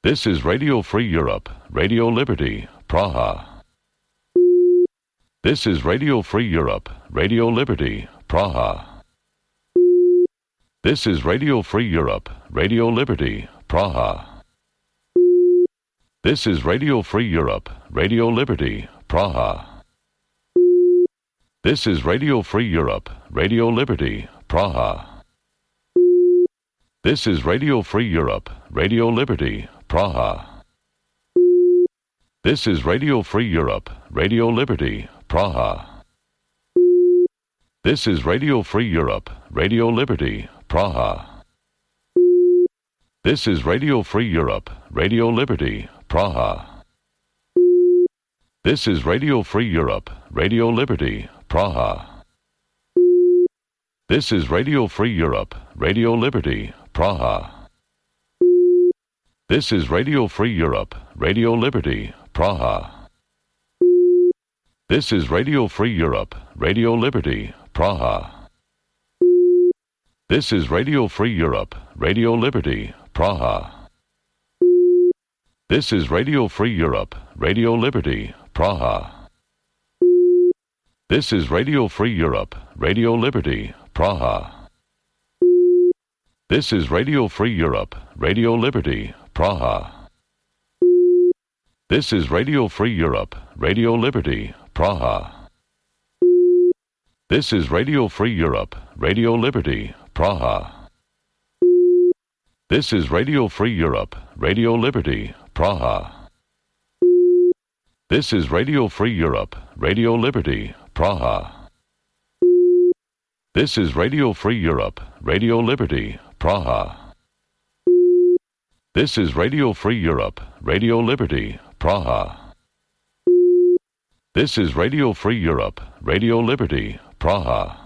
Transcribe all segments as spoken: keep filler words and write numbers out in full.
This is Radio Free Europe, Radio Liberty, Praha. This is Radio Free Europe, Radio Liberty, Praha. This is Radio Free Europe, Radio Liberty, Praha. This is Radio Free Europe, Radio Liberty, Praha. This is Radio Free Europe, Radio Liberty, Praha. This is Radio Free Europe, Radio Liberty, Praha. This is Radio Free Europe, Radio Liberty, Praha. This is Radio Free Europe, Radio Liberty, Praha. This is Radio Free Europe, Radio Liberty, Praha. This is Radio Free Europe, Radio Liberty, Praha. This is Radio Free Europe, Radio Liberty, Praha. This is Radio Free Europe, Radio Liberty, Praha. This is Radio Free Europe, Radio Liberty, Praha. This is Radio Free Europe, Radio Liberty, Praha. This is Radio Free Europe, Radio Liberty, Praha. This is Radio Free Europe, Radio Liberty, Praha. This is Radio Free Europe, Radio Liberty, Praha. This is Radio Free Europe, Radio Liberty, Praha. This is Radio Free Europe, Radio Liberty, Praha. This is Radio Free Europe, Radio Liberty, Praha. This is Radio Free Europe, Radio Liberty, Praha. This is Radio Free Europe, Radio Liberty, Praha. This is Radio Free Europe, Radio Liberty, Praha. This is Radio Free Europe, Radio Liberty, Praha.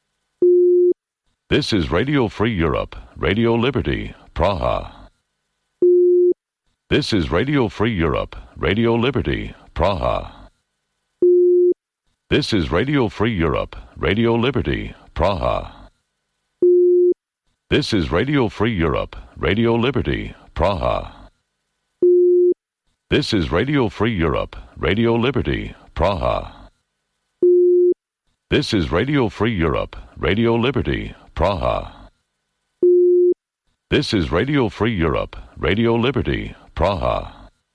This is Radio Free Europe, Radio Liberty, Praha. This is Radio Free Europe, Radio Liberty, Praha. This is Radio Free Europe, Radio Liberty, Praha. This is Radio Free Europe, Radio Liberty, Praha. This is Radio Free Europe, Radio Liberty, Praha. This is Radio Free Europe, Radio Liberty, Praha. This is Radio Free Europe, Radio Liberty, Praha.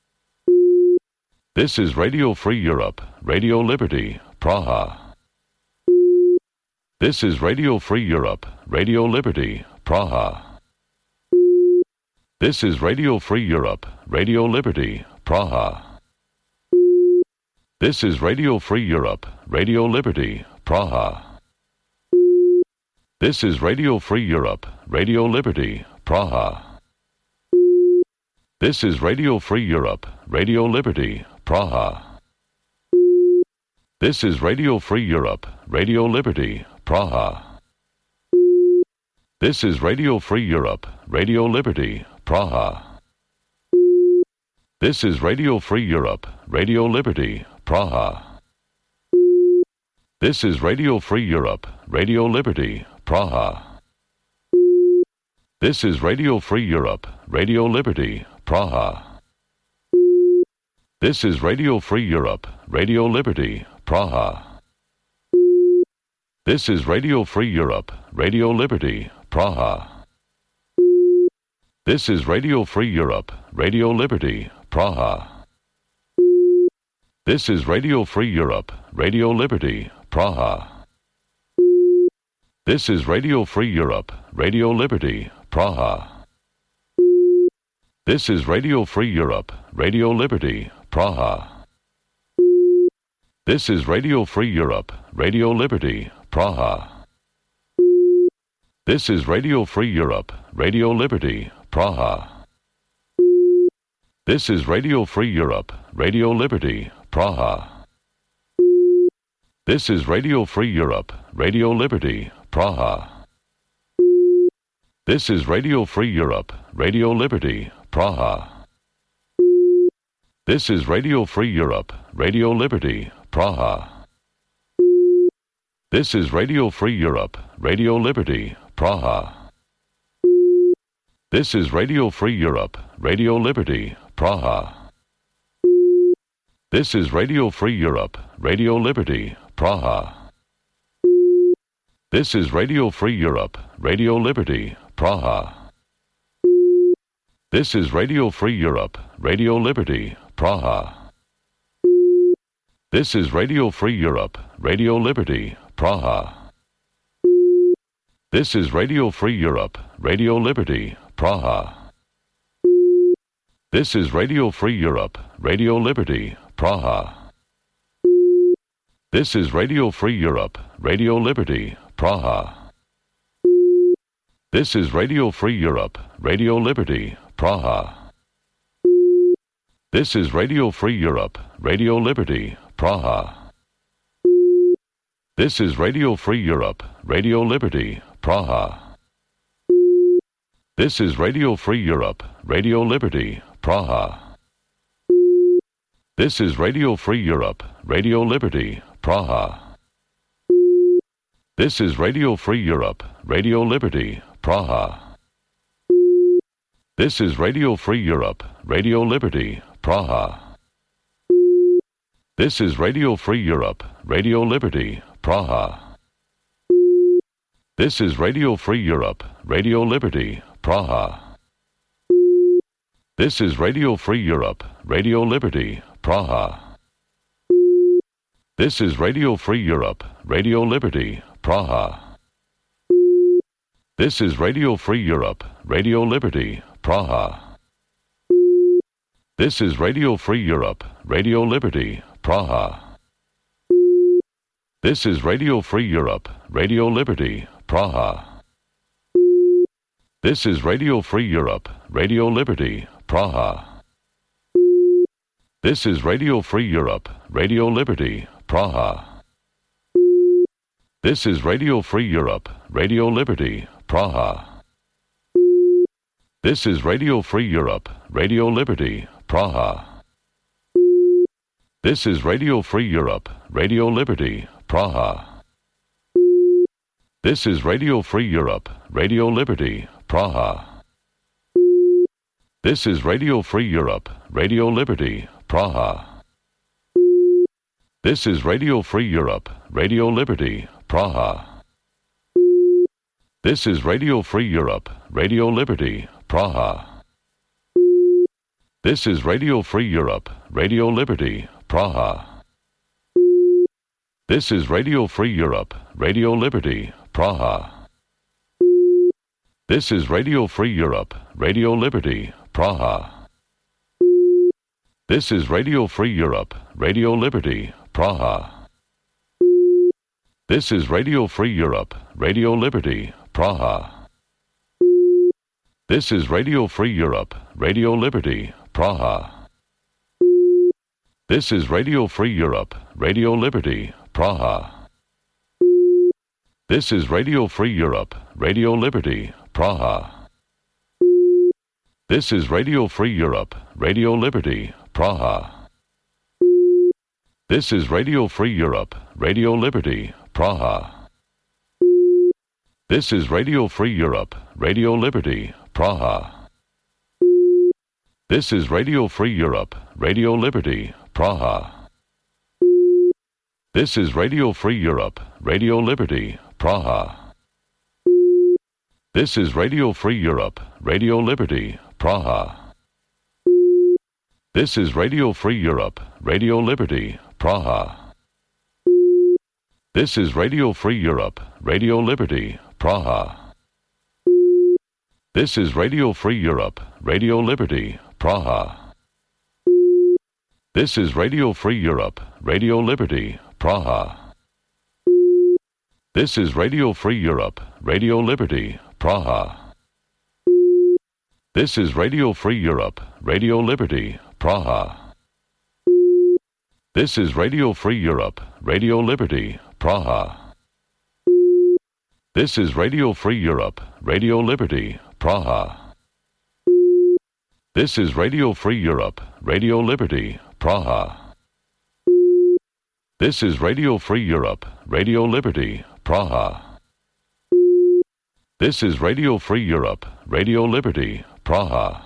This is Radio Free Europe, Radio Liberty, Praha. This is Radio Free Europe, Radio Liberty, Praha. This is Radio Free Europe, Radio Liberty, Praha. This is Radio Free Europe, Radio Liberty, Praha. This is Radio Free Europe, Radio Liberty, Praha. This is Radio Free Europe, Radio Liberty, Praha. This is Radio Free Europe, Radio Liberty, Praha. This is Radio Free Europe, Radio Liberty, Praha. This is Radio Free Europe, Radio Liberty, Praha. This is Radio Free Europe, Radio Liberty, Praha. This is Radio Free Europe, Radio Liberty, Praha. This is Radio Free Europe, Radio Liberty, Praha. This is Radio Free Europe, Radio Liberty, Praha. This is Radio Free Europe, Radio Liberty, Praha. This is Radio Free Europe, Radio Liberty, Praha. This is Radio Free Europe, Radio Liberty, Praha. This is Radio Free Europe, Radio Liberty, Praha. This is Radio Free Europe, Radio Liberty, Praha. This is Radio Free Europe, Radio Liberty, Praha. This is Radio Free Europe, Radio Liberty, Praha. This is Radio Free Europe, Radio Liberty, Praha. This is Radio Free Europe, Radio Liberty, Praha. This is Radio Free Europe, Radio Liberty, Praha. This is Radio Free Europe, Radio Liberty, Praha. This is Radio Free Europe, Radio Liberty, Praha. This is Radio Free Europe, Radio Liberty, Praha. This is Radio Free Europe, Radio Liberty, Praha. This is Radio Free Europe, Radio Liberty, Praha. This is Radio Free Europe, Radio Liberty, Praha. This is Radio Free Europe, Radio Liberty, Praha. This is Radio Free Europe, Radio Liberty, Praha. This is Radio Free Europe, Radio Liberty, Praha. This is Radio Free Europe, Radio Liberty, Praha. This is Radio Free Europe, Radio Liberty, Praha. This is Radio Free Europe, Radio Liberty, Praha. This is Radio Free Europe, Radio Liberty, Praha. This is Radio Free Europe, Radio Liberty, Praha. This is Radio Free Europe, Radio Liberty, Praha. This is Radio Free Europe, Radio Liberty, Praha. This is Radio Free Europe, Radio Liberty, Praha. This is Radio Free Europe, Radio Liberty, Praha. This is Radio Free Europe, Radio Liberty, Praha. This is Radio Free Europe, Radio Liberty, Praha. This is Radio Free Europe, Radio Liberty, Praha. This is Radio Free Europe, Radio Liberty, Praha. This is Radio Free Europe, Radio Liberty, Praha. This is Radio Free Europe, Radio Liberty, Praha. This is Radio Free Europe, Radio Liberty, Praha. This is Radio Free Europe, Radio Liberty, Praha. This is Radio Free Europe, Radio Liberty, Praha. This is Radio Free Europe, Radio Liberty, Praha. This is Radio Free Europe, Radio Liberty, Praha. This is Radio Free Europe, Radio Liberty, Praha. This is Radio Free Europe, Radio Liberty, Praha. This is Radio Free Europe, Radio Liberty, Praha. This is Radio Free Europe, Radio Liberty, Praha. This is Radio Free Europe, Radio Liberty, Praha. This is Radio Free Europe, Radio Liberty, Praha. This is Radio Free Europe, Radio Liberty, Praha. This is Radio Free Europe, Radio Liberty, Praha. This is Radio Free Europe, Radio Liberty, Praha. This is Radio Free Europe, Radio Liberty, Praha. This is Radio Free Europe, Radio Liberty, Praha. This is Radio Free Europe, Radio Liberty, Praha. This is Radio Free Europe, Radio Liberty, Praha. This is Radio Free Europe, Radio Liberty, Praha. This is Radio Free Europe, Radio Liberty, Praha. This is Radio Free Europe, Radio Liberty, Praha. This is Radio Free Europe, Radio Liberty, Praha. This is Radio Free Europe, Radio Liberty, Praha. This is Radio Free Europe, Radio Liberty, Praha. This is Radio Free Europe, Radio Liberty, Praha. This is Radio Free Europe, Radio Liberty, Praha. This is Radio Free Europe, Radio Liberty, Praha. This is Radio Free Europe, Radio Liberty, Praha. This is Radio Free Europe, Radio Liberty, Praha. This is Radio Free Europe, Radio Liberty, Praha. This is Radio Free Europe, Radio Liberty, Praha. This is Radio Free Europe, Radio Liberty, Praha. This is Radio Free Europe, Radio Liberty, Praha.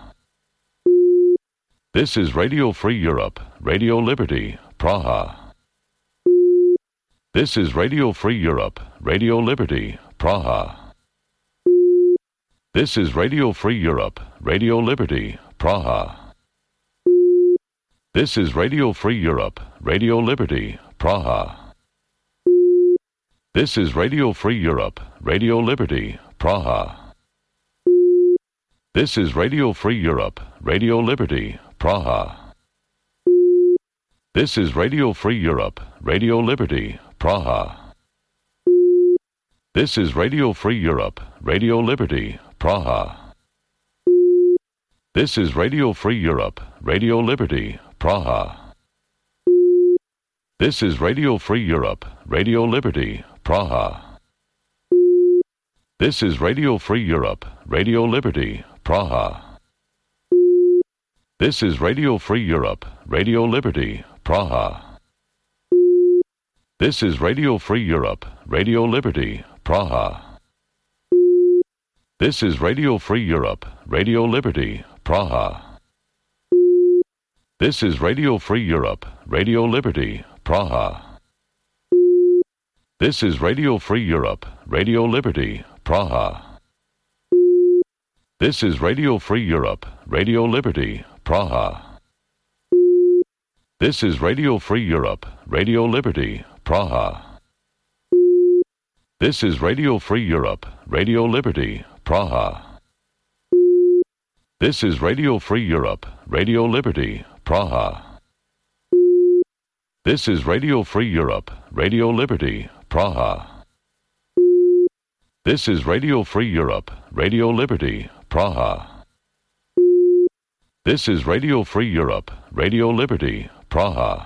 This is Radio Free Europe, Radio Liberty, Praha. This is Radio Free Europe, Radio Liberty, Praha. This is Radio Free Europe, Radio Liberty, Praha. This is Radio Free Europe, Radio Liberty, Praha. This is Radio Free Europe, Radio Liberty, Praha. This is Radio Free Europe, Radio Liberty, Praha. This is Radio Free Europe, Radio Liberty, Praha. This is Radio Free Europe, Radio Liberty, Praha. This is Radio Free Europe, Radio Liberty, Praha. This is Radio Free Europe, Radio Liberty, Praha. This is Radio Free Europe, Radio Liberty, Praha. This is Radio Free Europe, Radio Liberty, Praha. This is Radio Free Europe, Radio Liberty, Praha. This is Radio Free Europe, Radio Liberty, Praha. This is Radio Free Europe, Radio Liberty, Praha. This is Radio Free Europe, Radio Liberty, Praha. This is Radio Free Europe, Radio Liberty, Praha. This is Radio Free Europe, Radio Liberty, Praha. This is Radio Free Europe, Radio Liberty, Praha. This is Radio Free Europe, Radio Liberty, Praha. This is Radio Free Europe, Radio Liberty, Praha. This is Radio Free Europe, Radio Liberty, Praha. This is Radio Free Europe, Radio Liberty, Praha.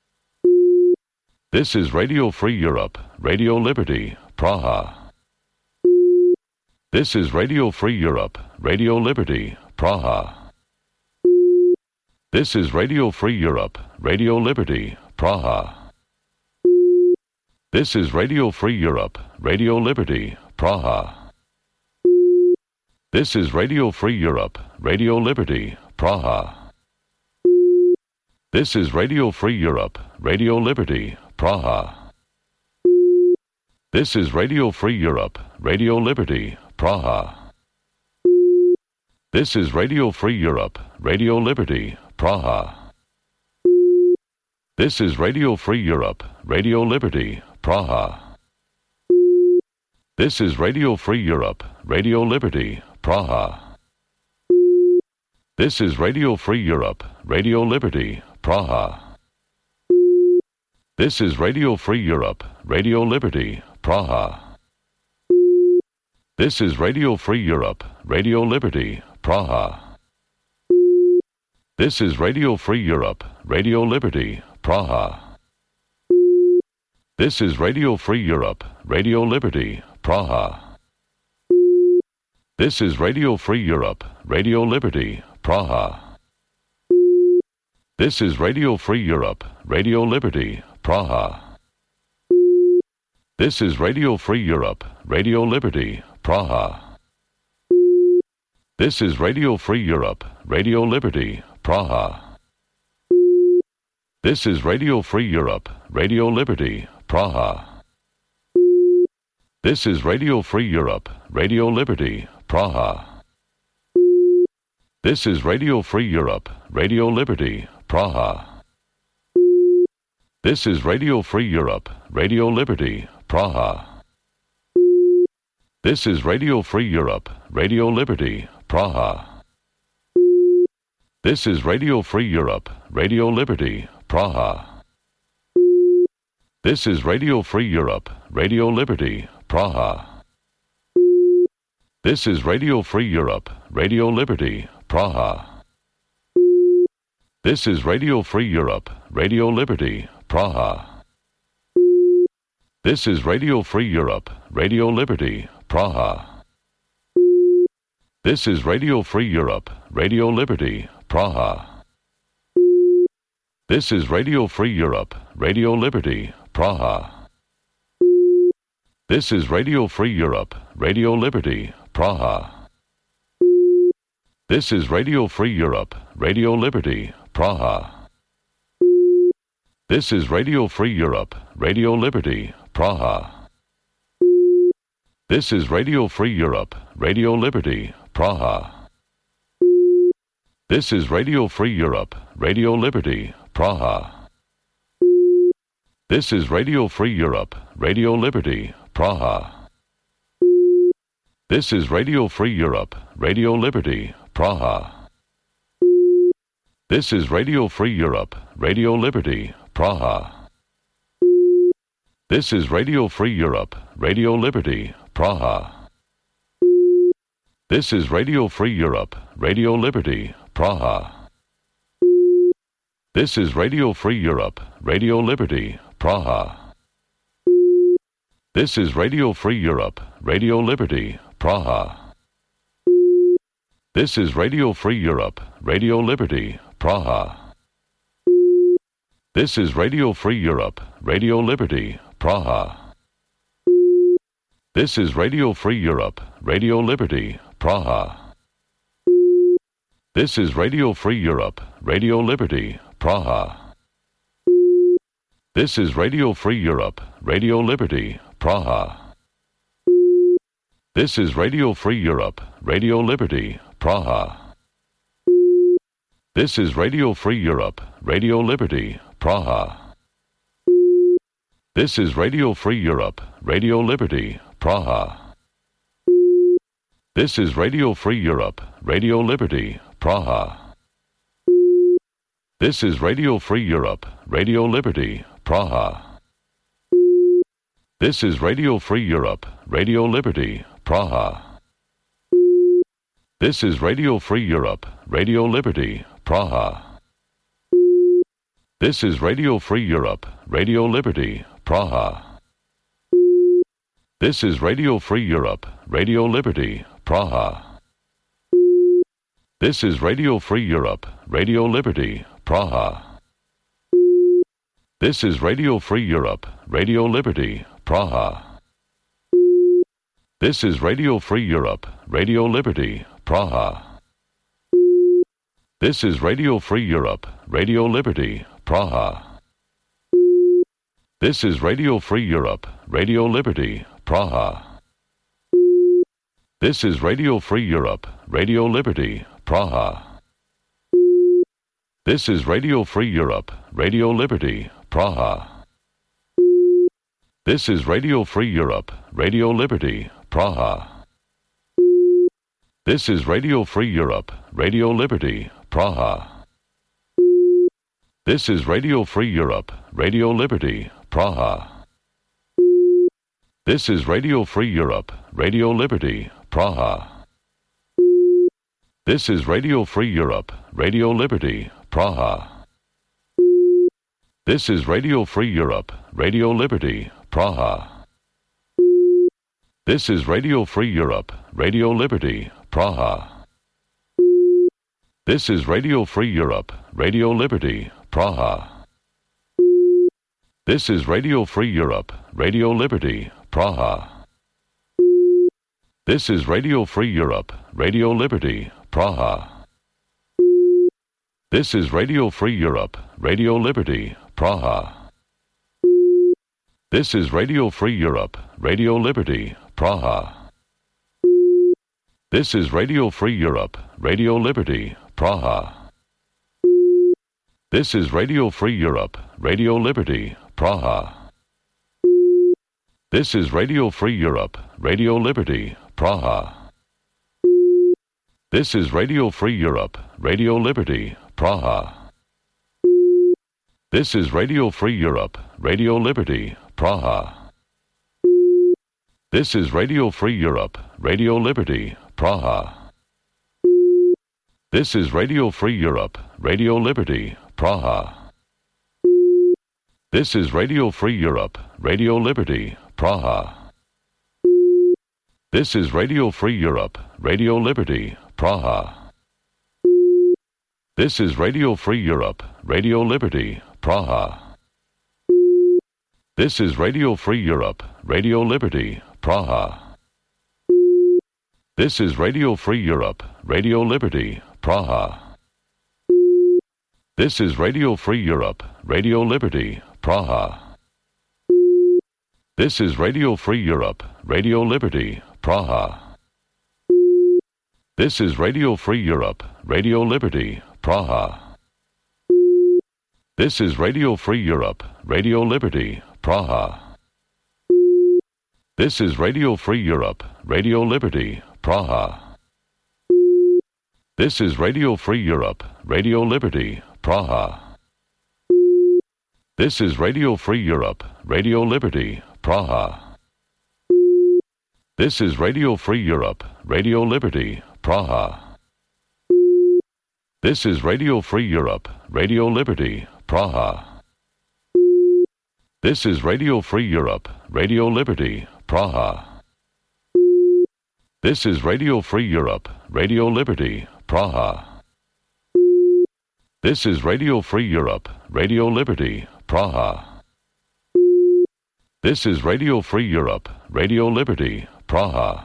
This is Radio Free Europe, Radio Liberty, Praha. This is Radio Free Europe, Radio Liberty, Praha. This is Radio Free Europe, Radio Liberty, Praha. This is Radio Free Europe, Radio Liberty, Praha. This is Radio Free Europe, Radio Liberty, Praha. This is Radio Free Europe, Radio Liberty, Praha. This is Radio Free Europe, Radio Liberty, Praha. This is Radio Free Europe, Radio Liberty, Praha. This is Radio Free Europe, Radio Liberty, Praha. This is Radio Free Europe, Radio Liberty, Praha. This is Radio Free Europe, Radio Liberty, Praha. This is Radio Free Europe, Radio Liberty, Praha. This is Radio Free Europe, Radio Liberty, Praha. This is Radio Free Europe, Radio Liberty, Praha. This is Radio Free Europe, Radio Liberty, Praha. This is Radio Free Europe, Radio Liberty, Praha. This is Radio Free Europe, Radio Liberty, Praha. This is Radio Free Europe, Radio Liberty, Praha. This is Radio Free Europe, Radio Liberty, Praha. This is Radio Free Europe, Radio Liberty, Praha. This is Radio Free Europe, Radio Liberty, Praha. This is Radio Free Europe, Radio Liberty, Praha. This is Radio Free Europe, Radio Liberty, Praha. This is Radio Free Europe, Radio Liberty, Praha. This is Radio Free Europe, Radio Liberty, Praha. This is Radio Free Europe, Radio Liberty, Praha. This is Radio Free Europe, Radio Liberty, Praha. This is Radio Free Europe, Radio Liberty, Praha. This is Radio Free Europe, Radio Liberty, Praha. This is Radio Free Europe, Radio Liberty, Praha. This is Radio Free Europe, Radio Liberty, Praha. This is Radio Free Europe, Radio Liberty, Praha. This is Radio Free Europe, Radio Liberty, Praha. This is Radio Free Europe, Radio Liberty, Praha. This is Radio Free Europe, Radio Liberty, Praha. This is Radio Free Europe, Radio Liberty, Praha. This is Radio Free Europe, Radio Liberty, Praha. This is Radio Free Europe, Radio Liberty, Praha. This is Radio Free Europe, Radio Liberty, Praha. This is Radio Free Europe, Radio Liberty, Praha. This is Radio Free Europe, Radio Liberty, Praha. This is Radio Free Europe, Radio Liberty, Praha. This is Radio Free Europe, Radio Liberty, Praha. This is Radio Free Europe, Radio Liberty, Praha. This is Radio Free Europe, Radio Liberty, Praha. This is Radio Free Europe, Radio Liberty, Praha. This is Radio Free Europe, Radio Liberty, Praha. This is Radio Free Europe, Radio Liberty, Praha. This is Radio Free Europe, Radio Liberty, Praha. This is Radio Free Europe, Radio Liberty, Praha. This is Radio Free Europe, Radio Liberty, Praha. This is Radio Free Europe, Radio Liberty, Praha. This is Radio Free Europe, Radio Liberty, Praha. This is Radio Free Europe, Radio Liberty, Praha. This is Radio Free Europe, Radio Liberty, Praha. This is Radio Free Europe, Radio Liberty, Praha. This is Radio Free Europe, Radio Liberty, Praha. This is Radio Free Europe, Radio Liberty, Praha. This is Radio Free Europe, Radio Liberty, Praha. This is Radio Free Europe, Radio Liberty, Praha. This is Radio Free Europe, Radio Liberty, Praha. This is Radio Free Europe, Radio Liberty, Praha. This is Radio Free Europe, Radio Liberty, Praha. This is Radio Free Europe, Radio Liberty, Praha. This is Radio Free Europe, Radio Liberty, Praha. This is Radio Free Europe, Radio Liberty, Praha. This is Radio Free Europe, Radio Liberty, Praha. This is Radio Free Europe, Radio Liberty, Praha. This is Radio Free Europe, Radio Liberty, Praha. This is Radio Free Europe, Radio Liberty, Praha. This is Radio Free Europe, Radio Liberty, Praha. This is Radio Free Europe, Radio Liberty, Praha. This is Radio Free Europe, Radio Liberty, Praha. This is Radio Free Europe, Radio Liberty, Praha. This is Radio Free Europe, Radio Liberty, Praha. This is Radio Free Europe, Radio Liberty, Praha. This is Radio Free Europe, Radio Liberty, Praha. This is Radio Free Europe, Radio Liberty, Praha. This is Radio Free Europe, Radio Liberty, Praha. This is Radio Free Europe, Radio Liberty, Praha. This is Radio Free Europe, Radio Liberty, Praha. This is Radio Free Europe, Radio Liberty, Praha. This is Radio Free Europe, Radio Liberty, Praha. This is Radio Free Europe, Radio Liberty, Praha. This is Radio Free Europe, Radio Liberty, Praha. This is Radio Free Europe, Radio Liberty, Praha. This is Radio Free Europe, Radio Liberty, Praha. This is Radio Free Europe, Radio Liberty, Praha. This is Radio Free Europe, Radio Liberty, Praha. This is Radio Free Europe, Radio Liberty, Praha. This is Radio Free Europe, Radio Liberty, Praha. This is Radio Free Europe, Radio Liberty, Praha. This is Radio Free Europe, Radio Liberty, Praha. This is Radio Free Europe, Radio Liberty, Praha. This is Radio Free Europe, Radio Liberty, Praha. This is Radio Free Europe, Radio Liberty, Praha. This is Radio Free Europe, Radio Liberty, Praha. This is Radio Free Europe, Radio Liberty, Praha. This is Radio Free Europe, Radio Liberty, Praha. This is Radio Free Europe, Radio Liberty, Praha. This is Radio Free Europe, Radio Liberty, Praha.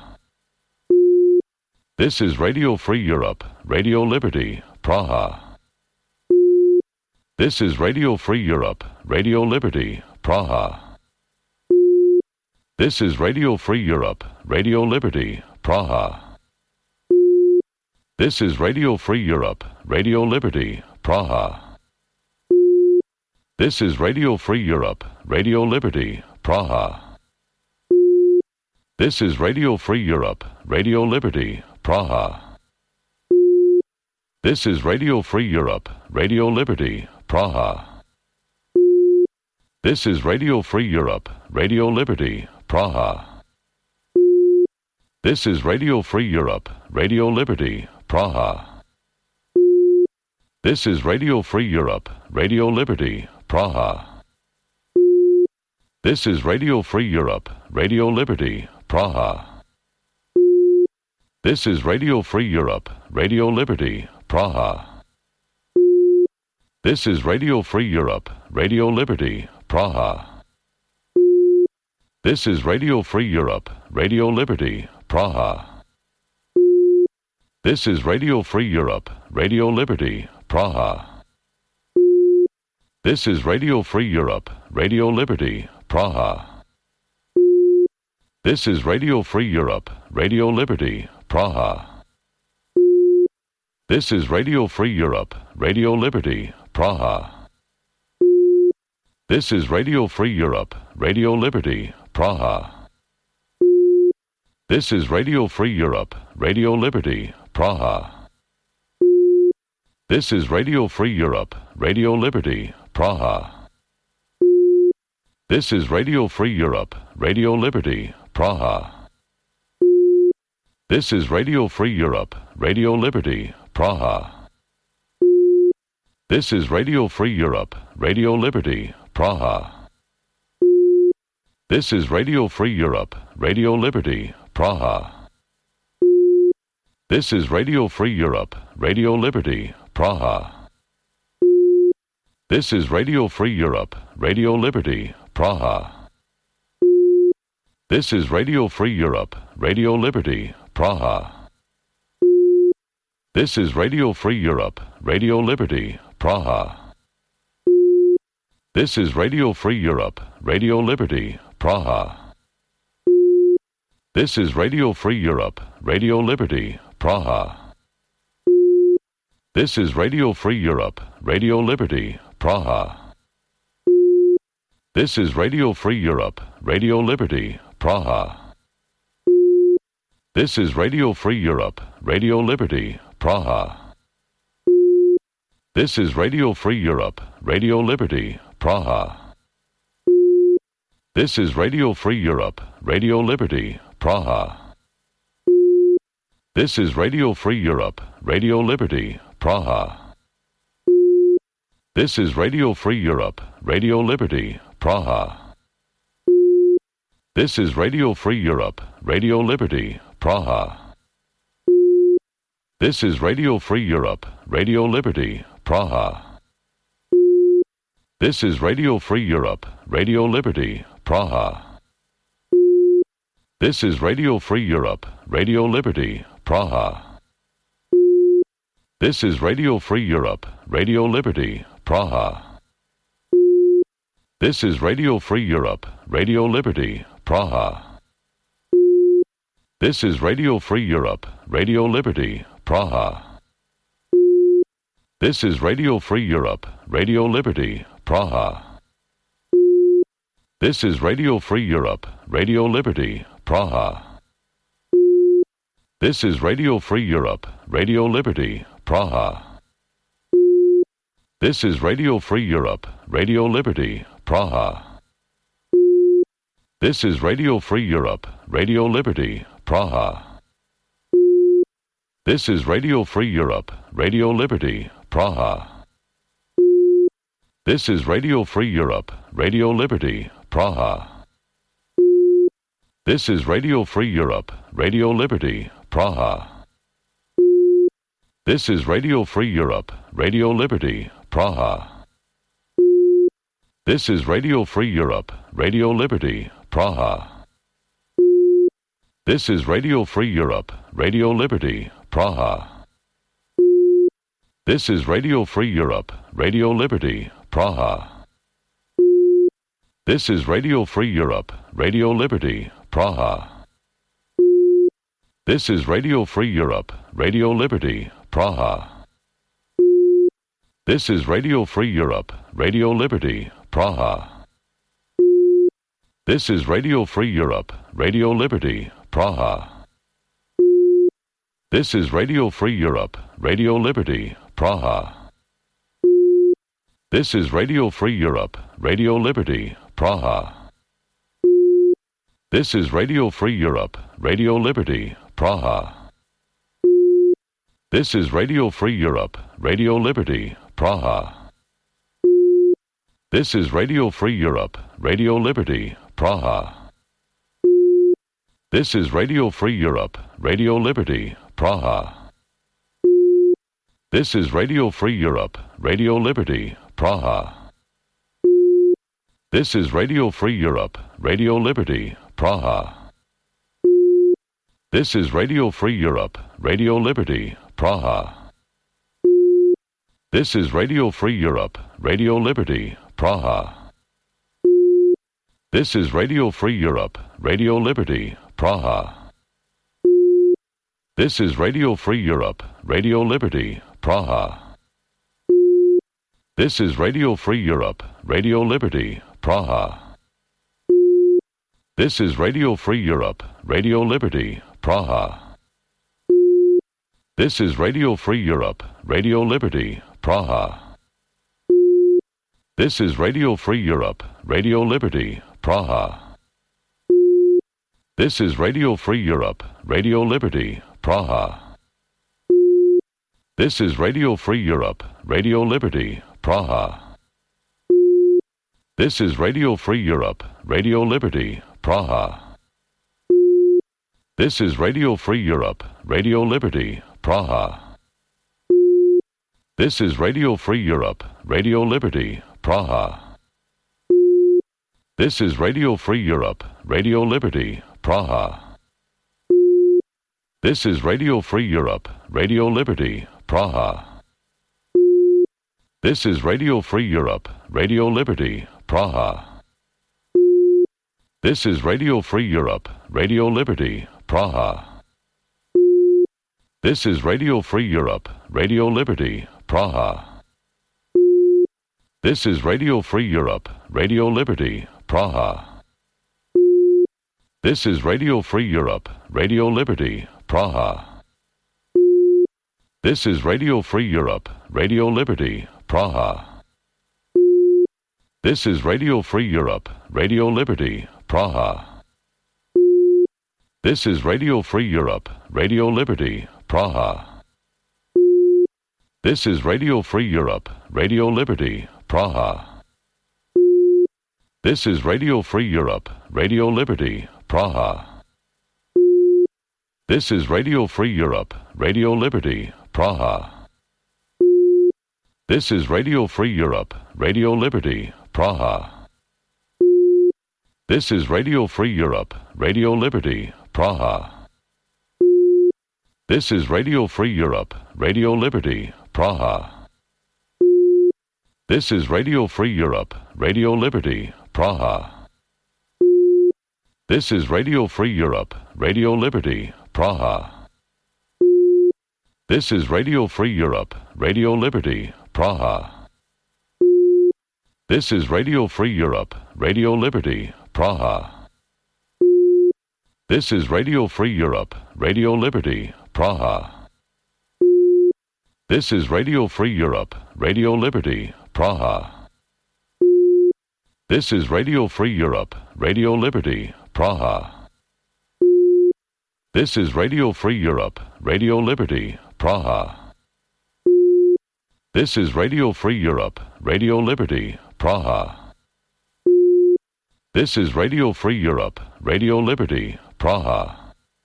This is Radio Free Europe, Radio Liberty, Praha. This is Radio Free Europe, Radio Liberty, Praha. This is Radio Free Europe, Radio Liberty, Praha. This is Radio Free Europe, Radio Liberty, Praha. This is Radio Free Europe, Radio Liberty, Praha. This is Radio Free Europe, Radio Liberty, Praha. This is Radio Free Europe, Radio Liberty, Praha. This is Radio Free Europe, Radio Liberty, Praha. This is Radio Free Europe, Radio Liberty, Praha. This is Radio Free Europe, Radio Liberty, Praha. This is Radio Free Europe, Radio Liberty, Praha. This is Radio Free Europe, Radio Liberty, Praha. This is Radio Free Europe, Radio Liberty, Praha. This is Radio Free Europe, Radio Liberty, Praha. This is Radio Free Europe, Radio Liberty, Praha. This is Radio Free Europe, Radio Liberty, Praha. This is Radio Free Europe, Radio Liberty, Praha. This is Radio Free Europe, Radio Liberty, Praha. This is Radio Free Europe, Radio Liberty, Praha. This is Radio Free Europe, Radio Liberty, Praha. This is Radio Free Europe, Radio Liberty, Praha. This is Radio Free Europe, Radio Liberty, Praha. This is Radio Free Europe, Radio Liberty, Praha. This is Radio Free Europe, Radio Liberty, Praha. This is Radio Free Europe, Radio Liberty, Praha. This is Radio Free Europe, Radio Liberty, Praha. This is Radio Free Europe, Radio Liberty, Praha. This is Radio Free Europe, Radio Liberty, Praha. This is Radio Free Europe, Radio Liberty, Praha. This is Radio Free Europe, Radio Liberty, Praha. This is Radio Free Europe, Radio Liberty, Praha. This is Radio Free Europe, Radio Liberty, Praha. This is Radio Free Europe, Radio Liberty, Praha. This is Radio Free Europe, Radio Liberty, Praha. This is Radio Free Europe, Radio Liberty, Praha. This is Radio Free Europe, Radio Liberty, Praha. This is Radio Free Europe, Radio Liberty, Praha. This is Radio Free Europe, Radio Liberty, Praha. This is Radio Free Europe, Radio Liberty, Praha. This is Radio Free Europe, Radio Liberty, Praha. This is Radio Free Europe, Radio Liberty, Praha. This is Radio Free Europe, Radio Liberty, Praha. This is Radio Free Europe, Radio Liberty, Praha. This is Radio Free Europe, Radio Liberty, Praha. This is Radio Free Europe, Radio Liberty, Praha. This is Radio Free Europe, Radio Liberty, Praha. This is Radio Free Europe, Radio Liberty, Praha. This is Radio Free Europe, Radio Liberty, Praha. This is Radio Free Europe, Radio Liberty, Praha. This is Radio Free Europe, Radio Liberty, Praha. This is Radio Free Europe, Radio Liberty, Praha. This is Radio Free Europe, Radio Liberty, Praha. This is Radio Free Europe, Radio Liberty, Praha. This is Radio Free Europe, Radio Liberty, Praha. This is Radio Free Europe, Radio Liberty, Praha. This is Radio Free Europe, Radio Liberty, Praha. This is Radio Free Europe, Radio Liberty, Praha. This is Radio Free Europe, Radio Liberty, Praha. This is Radio Free Europe, Radio Liberty, Praha. This is Radio Free Europe, Radio Liberty, Praha. This is Radio Free Europe, Radio Liberty, Praha. This is Radio Free Europe, Radio Liberty, Praha. This is Radio Free Europe, Radio Liberty, Praha. This is Radio Free Europe, Radio Liberty, Praha. This is Radio Free Europe, Radio Liberty, Praha. This is Radio Free Europe, Radio Liberty, Praha. This is Radio Free Europe, Radio Liberty, Praha. This is Radio Free Europe, Radio Liberty, Praha. This is Radio Free Europe, Radio Liberty, Praha. This is Radio Free Europe, Radio Liberty, Praha. This is Radio Free Europe, Radio Liberty, Praha. This is Radio Free Europe, Radio Liberty, Praha. This is Radio Free Europe, Radio Liberty, Praha. This is Radio Free Europe, Radio Liberty, Praha. This is Radio Free Europe, Radio Liberty, Praha. This is Radio Free Europe, Radio Liberty, Praha. This is Radio Free Europe, Radio Liberty, Praha. This is Radio Free Europe, Radio Liberty, Praha. This is Radio Free Europe, Radio Liberty, Praha. This is Radio Free Europe, Radio Liberty, Praha. This is Radio Free Europe, Radio Liberty, Praha. This is Radio Free Europe, Radio Liberty, Praha. This is Radio Free Europe, Radio Liberty, Praha. This is Radio Free Europe, Radio Liberty, Praha. This is Radio Free Europe, Radio Liberty, Praha. This is Radio Free Europe, Radio Liberty, Praha. This is Radio Free Europe, Radio Liberty, Praha. This is Radio Free Europe, Radio Liberty, Praha. This is Radio Free Europe, Radio Liberty, Praha. This is Radio Free Europe, Radio Liberty, Praha. This is Radio Free Europe, Radio Liberty, Praha. This is Radio Free Europe, Radio Liberty, Praha. This is Radio Free Europe, Radio Liberty, Praha. This is Radio Free Europe, Radio Liberty, Praha. This is Radio Free Europe, Radio Liberty, Praha. This is Radio Free Europe, Radio Liberty, Praha. This is Radio Free Europe, Radio Liberty, Praha. This is Radio Free Europe, Radio Liberty, Praha. This is Radio Free Europe, Radio Liberty, Praha. This is Radio Free Europe, Radio Liberty, Praha. This is Radio Free Europe, Radio Liberty, Praha. This is Radio Free Europe, Radio Liberty, Praha. This is Radio Free Europe, Radio Liberty, Praha. This is Radio Free Europe, Radio Liberty, Praha. This is Radio Free Europe, Radio Liberty, Praha. This is Radio Free Europe, Radio Liberty, Praha. This is Radio Free Europe, Radio Liberty, Praha. This is Radio Free Europe, Radio Liberty, Praha.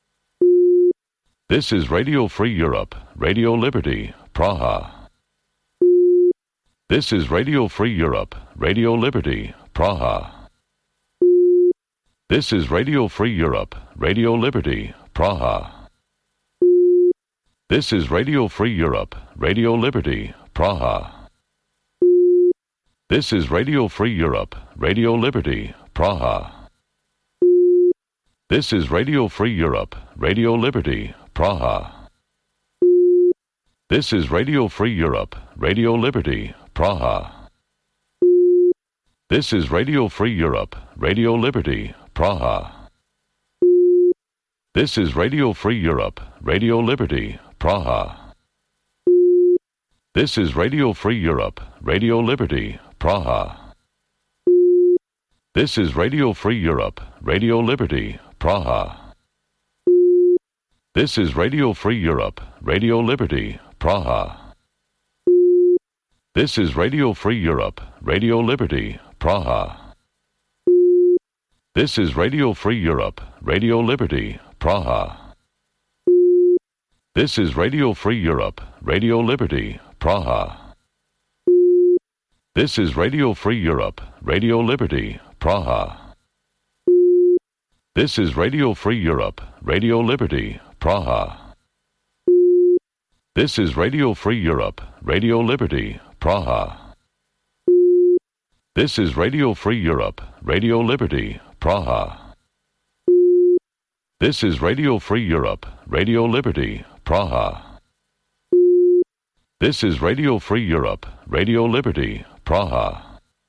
This is Radio Free Europe, Radio Liberty, Praha. This is Radio Free Europe, Radio Liberty, Praha. This is Radio Free Europe, Radio Liberty, Praha. This is Radio Free Europe, Radio Liberty, Praha. This is Radio Free Europe, Radio Liberty, Praha. This is Radio Free Europe, Radio Liberty, Praha. This is Radio Free Europe, Radio Liberty, Praha. This is Radio Free Europe, Radio Liberty, Praha. This is Radio Free Europe, Radio Liberty, Praha. This is Radio Free Europe, Radio Liberty, Praha. This is Radio Free Europe, Radio Liberty, Praha. This is Radio Free Europe, Radio Liberty, Praha. This is Radio Free Europe, Radio Liberty, Praha. This is Radio Free Europe, Radio Liberty, Praha. This is Radio Free Europe, Radio Liberty, Praha. This is Radio Free Europe, Radio Liberty, Praha. This is Radio Free Europe, Radio Liberty, Praha. This is Radio Free Europe, Radio Liberty, Praha. This is Radio Free Europe, Radio Liberty, Praha. This is Radio Free Europe, Radio Liberty, Praha. This is Radio Free Europe, Radio Liberty, Praha.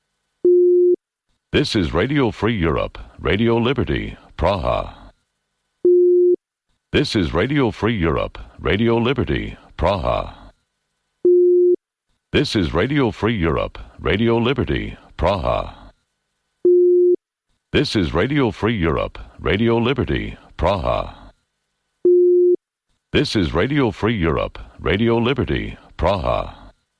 This is Radio Free Europe, Radio Liberty, Praha. This is Radio Free Europe, Radio Liberty, Praha. This is Radio Free Europe, Radio Liberty, Praha. This is Radio Free Europe, Radio Liberty, Praha. This is Radio Free Europe, Radio Liberty, Praha.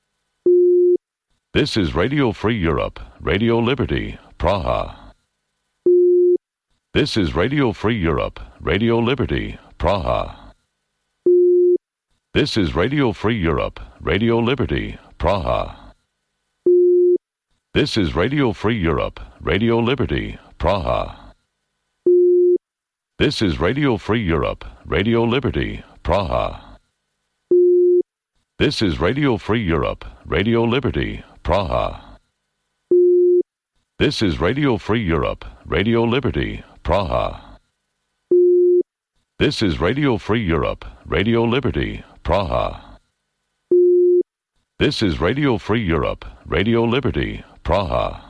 This is Radio Free Europe, Radio Liberty, Praha. This is Radio Free Europe, Radio Liberty, Praha. This is Radio Free Europe, Radio Liberty, Praha. This is Radio Free Europe, Radio Liberty, Praha. This is Radio Free Europe, Radio Liberty, Praha. This is Radio Free Europe, Radio Liberty, Praha. This is Radio Free Europe, Radio Liberty, Praha. This is Radio Free Europe, Radio Liberty, Praha. This is Radio Free Europe, Radio Liberty, Praha.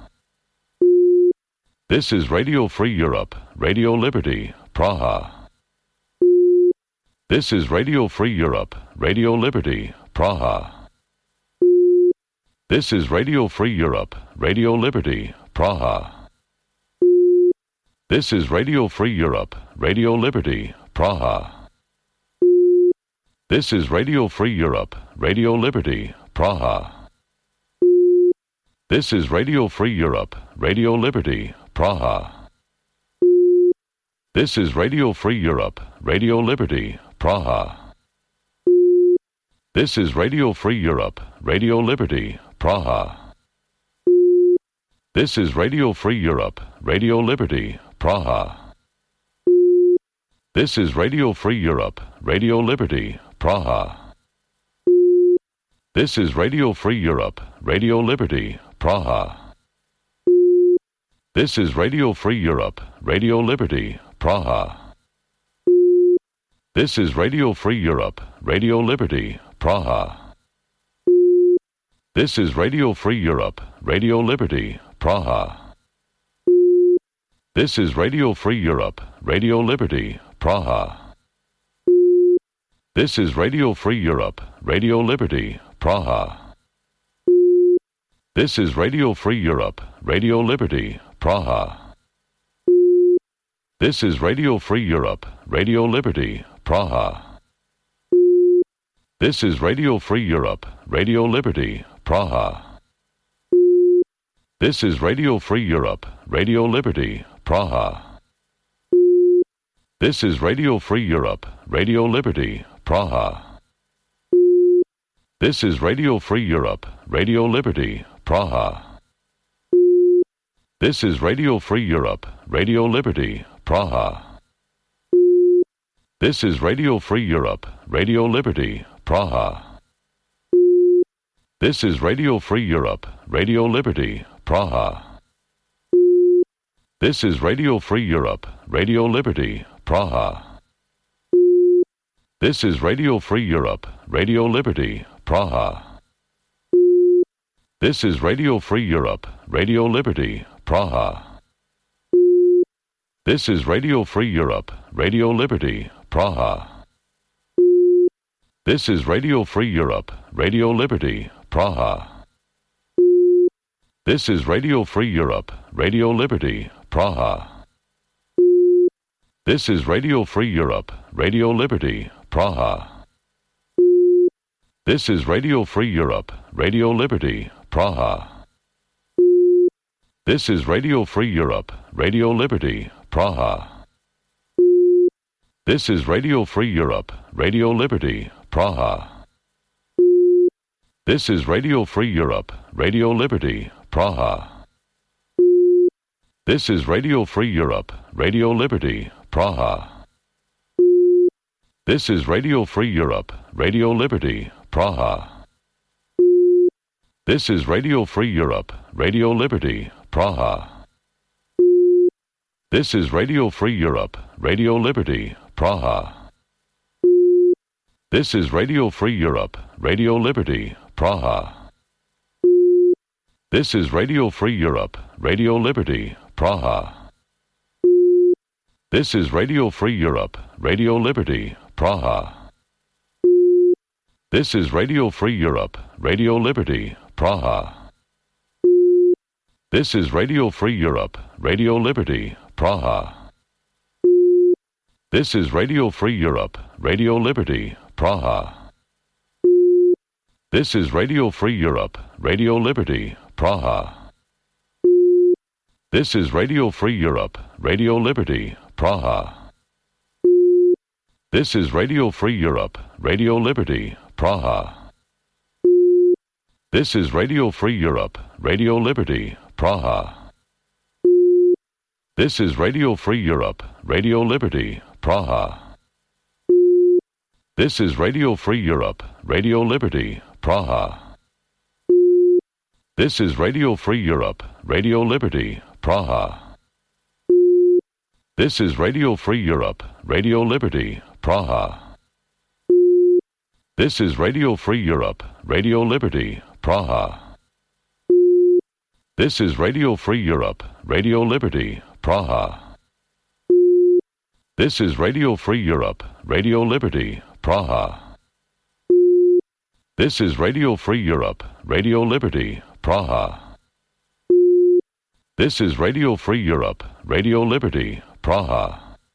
This is Radio Free Europe, Radio Liberty, Praha. This is Radio Free Europe, Radio Liberty, Praha. This is Radio Free Europe, Radio Liberty, Praha. This is Radio Free Europe, Radio Liberty, Praha. This is Radio Free Europe, Radio Liberty, Praha. This is Radio Free Europe, Radio Liberty, Praha. This is Radio Free Europe, Radio Liberty, Praha. This is Radio Free Europe, Radio Liberty, Praha. This is Radio Free Europe, Radio Liberty, Praha. This is Radio Free Europe, Radio Liberty, Praha. This is Radio Free Europe, Radio Liberty, Praha. This is Radio Free Europe, Radio Liberty, Praha. This is Radio Free Europe, Radio Liberty, Praha. This is Radio Free Europe, Radio Liberty, Praha. This is Radio Free Europe, Radio Liberty, Praha. This is Radio Free Europe, Radio Liberty, Praha. This is Radio Free Europe, Radio Liberty, Praha. This is Radio Free Europe, Radio Liberty, Praha. This is Radio Free Europe, Radio Liberty, Praha. This is Radio Free Europe, Radio Liberty, Praha. This is Radio Free Europe, Radio Liberty, Praha. This is Radio Free Europe, Radio Liberty, Praha. This is Radio Free Europe, Radio Liberty, Praha. This is Radio Free Europe, Radio Liberty, Praha. This is Radio Free Europe, Radio Liberty, Praha. This is Radio Free Europe, Radio Liberty, Praha. This is Radio Free Europe, Radio Liberty, Praha. This is Radio Free Europe, Radio Liberty, Praha. This is Radio Free Europe, Radio Liberty, Praha. This is Radio Free Europe, Radio Liberty, Praha. This is Radio Free Europe, Radio Liberty, Praha. This is Radio Free Europe, Radio Liberty, Praha. This is Radio Free Europe, Radio Liberty, Praha. This is Radio Free Europe, Radio Liberty, Praha. This is Radio Free Europe, Radio Liberty, Praha. This is Radio Free Europe, Radio Liberty, Praha. This is Radio Free Europe, Radio Liberty, Praha. This is Radio Free Europe, Radio Liberty, Praha. This is Radio Free Europe, Radio Liberty, Praha. This is Radio Free Europe, Radio Liberty, Praha. This is Radio Free Europe, Radio Liberty, Praha. This is Radio Free Europe, Radio Liberty, Praha. This is Radio Free Europe, Radio Liberty, Praha. This is Radio Free Europe, Radio Liberty, Praha. This is Radio Free Europe, Radio Liberty, Praha. This is Radio Free Europe, Radio Liberty, Praha. This is Radio Free Europe, Radio Liberty, Praha. This is Radio Free Europe, Radio Liberty, Praha. This is Radio Free Europe, Radio Liberty, Praha. This is Radio Free Europe, Radio Liberty, Praha. This is Radio Free Europe, Radio Liberty, Praha. This is Radio Free Europe, Radio Liberty, Praha. This is Radio Free Europe, Radio Liberty, Praha. This is Radio Free Europe, Radio Liberty, Praha. This is Radio Free Europe, Radio Liberty, Praha. This is Radio Free Europe, Radio Liberty, Praha. This is Radio Free Europe, Radio Liberty, Praha. This is Radio Free Europe, Radio Liberty, Praha. This is Radio Free Europe, Radio Liberty, Praha.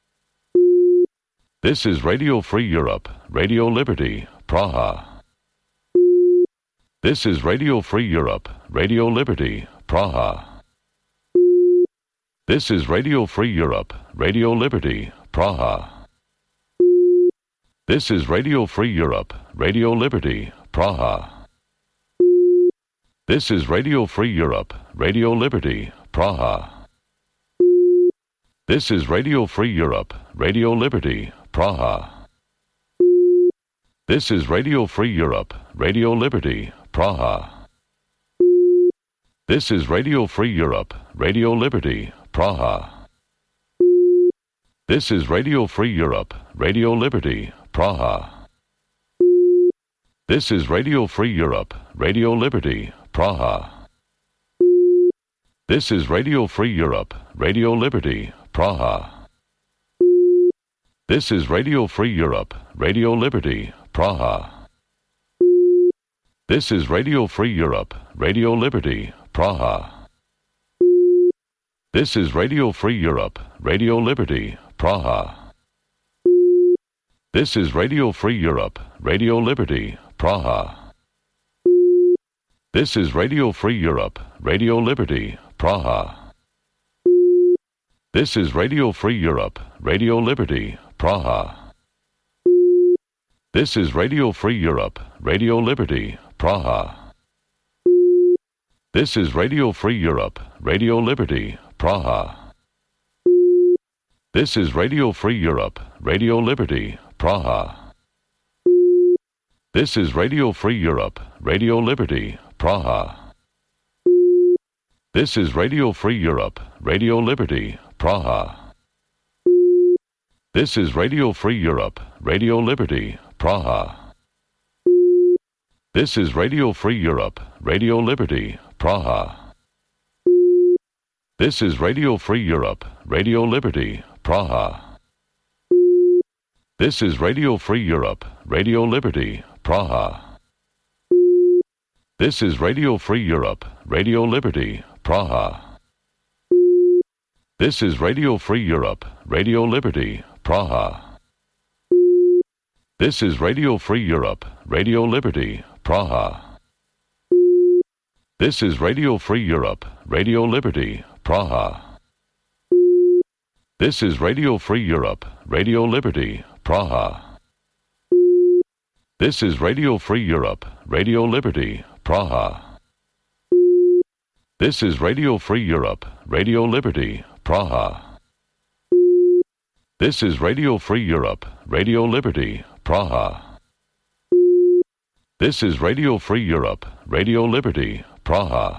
This is Radio Free Europe, Radio Liberty, Praha. This is Radio Free Europe, Radio Liberty, Praha. This is Radio Free Europe, Radio Liberty, Praha. This is Radio Free Europe, Radio Liberty, Praha. This is Radio Free Europe, Radio Liberty, Praha. This is Radio Free Europe, Radio Liberty, Praha. This is Radio Free Europe, Radio Liberty, Praha. This is Radio Free Europe, Radio Liberty, Praha. This is Radio Free Europe, Radio Liberty, Praha. This is Radio Free Europe, Radio Liberty, Praha. This is Radio Free Europe, Radio Liberty, Praha. This is Radio Free Europe, Radio Liberty, Praha. This is Radio Free Europe, Radio Liberty, Praha. This is Radio Free Europe, Radio Liberty, Praha. This is Radio Free Europe, Radio Liberty, Praha. This is Radio Free Europe, Radio Liberty, Praha. This is Radio Free Europe, Radio Liberty, Praha. This is Radio Free Europe, Radio Liberty, Praha. This is Radio Free Europe, Radio Liberty, Praha. This is Radio Free Europe, Radio Liberty, Praha. This is Radio Free Europe, Radio Liberty, Praha. This is Radio Free Europe, Radio Liberty, Praha. This is Radio Free Europe, Radio Liberty, Praha. This is Radio Free Europe, Radio Liberty, Praha. This is Radio Free Europe, Radio Liberty, Praha. This is Radio Free Europe, Radio Liberty, Praha. This is Radio Free Europe, Radio Liberty, Praha. This is Radio Free Europe, Radio Liberty, Praha. This is Radio Free Europe, Radio Liberty, Praha. This is Radio Free Europe, Radio Liberty, Praha. This is Radio Free Europe, Radio Liberty, Praha. This is Radio Free Europe, Radio Liberty, Praha. This is Radio Free Europe, Radio Liberty, Praha. This is Radio Free Europe, Radio Liberty, Praha. This is Radio Free Europe, Radio Liberty, Praha.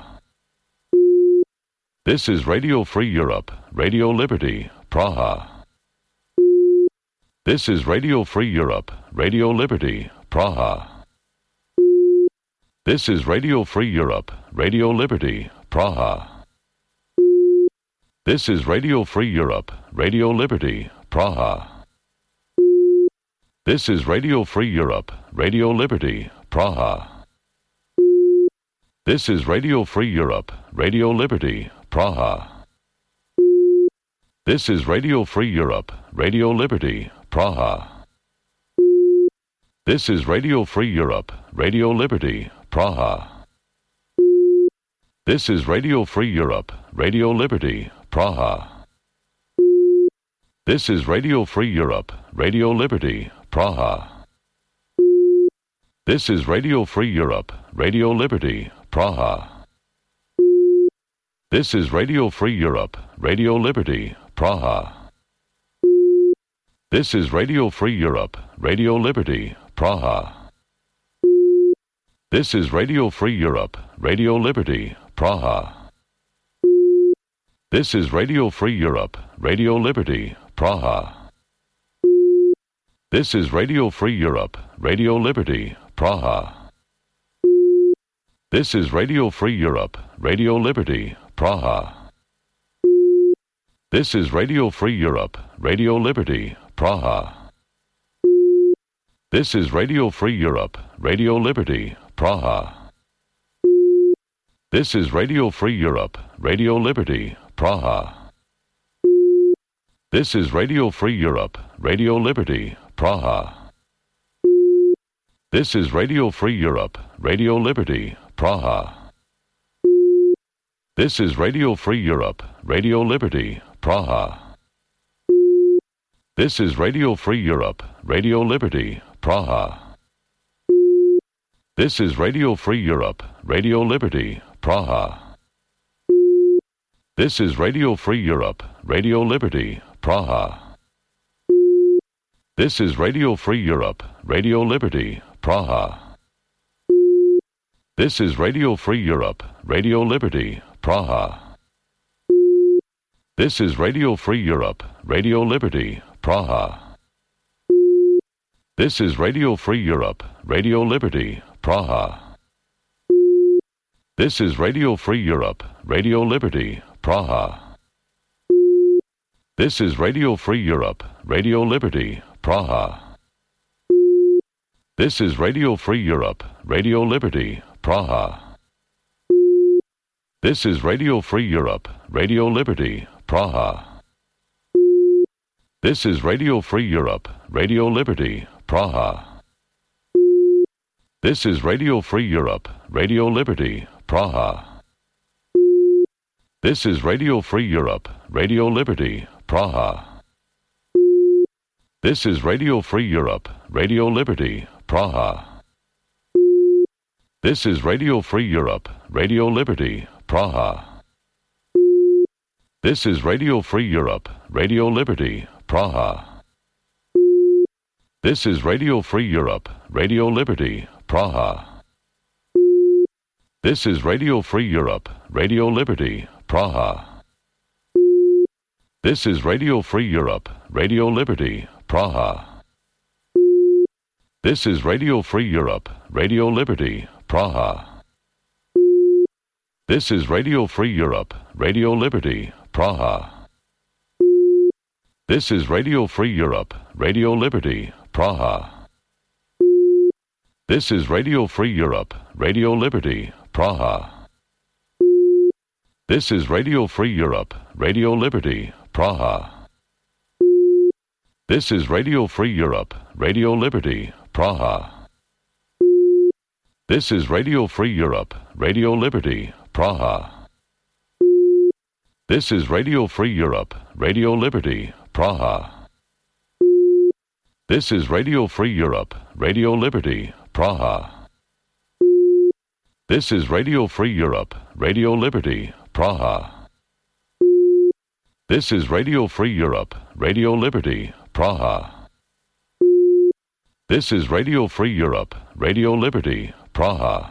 This is Radio Free Europe, Radio Liberty, Praha. This is Radio Free Europe, Radio Liberty, Praha. This is Radio Free Europe, Radio Liberty, Praha. This is Radio Free Europe, Radio Liberty, Praha. This is Radio Free Europe, Radio Liberty, Praha. This is Radio Free Europe, Radio Liberty, Praha. This is Radio Free Europe, Radio Liberty, Praha. This is Radio Free Europe, Radio Liberty, Praha. This is Radio Free Europe, Radio Liberty, Praha. This is Radio Free Europe, Radio Liberty, Praha. This is Radio Free Europe, Radio Liberty, Praha. This is Radio Free Europe, Radio Liberty, Praha. This is Radio Free Europe, Radio Liberty, Praha. This is Radio Free Europe, Radio Liberty, Praha. This is Radio Free Europe, Radio Liberty, Praha. This is Radio Free Europe, Radio Liberty, Praha. This is Radio Free Europe, Radio Liberty, Praha. This is Radio Free Europe, Radio Liberty, Praha. This is Radio Free Europe, Radio Liberty, Praha. This is Radio Free Europe, Radio Liberty, Praha. This is Radio Free Europe, Radio Liberty, Praha. This is Radio Free Europe, Radio Liberty, Praha. This is Radio Free Europe, Radio Liberty, Praha. This is Radio Free Europe, Radio Liberty, Praha. This is Radio Free Europe, Radio Liberty, Praha. This is Radio Free Europe, Radio Liberty, Praha. This is Radio Free Europe, Radio Liberty, Praha. This is Radio Free Europe, Radio Liberty, Praha. This is Radio Free Europe, Radio Liberty, Praha. This is Radio Free Europe, Radio Liberty, Praha. This is Radio Free Europe, Radio Liberty, Praha. This is Radio Free Europe, Radio Liberty, Praha. This is Radio Free Europe, Radio Liberty, Praha. This is Radio Free Europe, Radio Liberty, Praha. This is Radio Free Europe, Radio Liberty, Praha. This is Radio Free Europe, Radio Liberty, Praha. This is Radio Free Europe, Radio Liberty, Praha. This is Radio Free Europe, Radio Liberty, Praha. This is Radio Free Europe, Radio Liberty, Praha. This is Radio Free Europe, Radio Liberty, Praha. This is Radio Free Europe, Radio Liberty, Praha. This is Radio Free Europe, Radio Liberty, Praha. This is Radio Free Europe, Radio Liberty, Praha. This is Radio Free Europe, Radio Liberty, Praha. This is Radio Free Europe, Radio Liberty, Praha. This is Radio Free Europe, Radio Liberty, Praha. This is Radio Free Europe, Radio Liberty, Praha. This is Radio Free Europe, Radio Liberty, Praha. This is Radio Free Europe, Radio Liberty, Praha. This is Radio Free Europe, Radio Liberty, Praha. This is Radio Free Europe, Radio Liberty, Praha. This is Radio Free Europe, Radio Liberty, Praha. This is Radio Free Europe, Radio Liberty, Praha. This is Radio Free Europe, Radio Liberty, Praha. This is Radio Free Europe, Radio Liberty, Praha.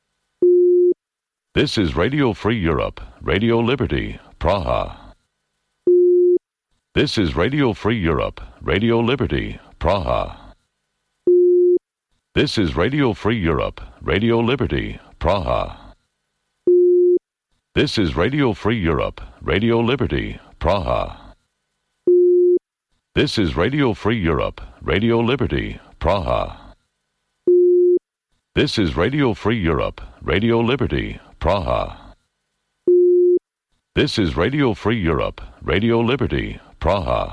This is Radio Free Europe, Radio Liberty, Praha. This is Radio Free Europe, Radio Liberty, Praha. This is Radio Free Europe, Radio Liberty, Praha. This is Radio Free Europe, Radio Liberty, Praha. This is Radio Free Europe, Radio Liberty, Praha. This is Radio Free Europe, Radio Liberty, Praha. This is Radio Free Europe, Radio Liberty, Praha.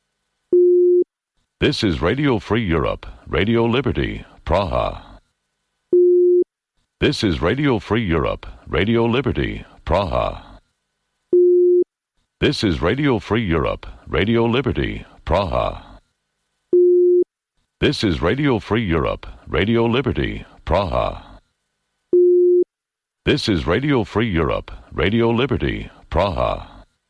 This is Radio Free Europe, Radio Liberty, Praha. This is Radio Free Europe, Radio Liberty, Praha. This is Radio Free Europe, Radio Liberty, Praha. This is Radio Free Europe, Radio Liberty, Praha. This is Radio Free Europe, Radio Liberty, Praha.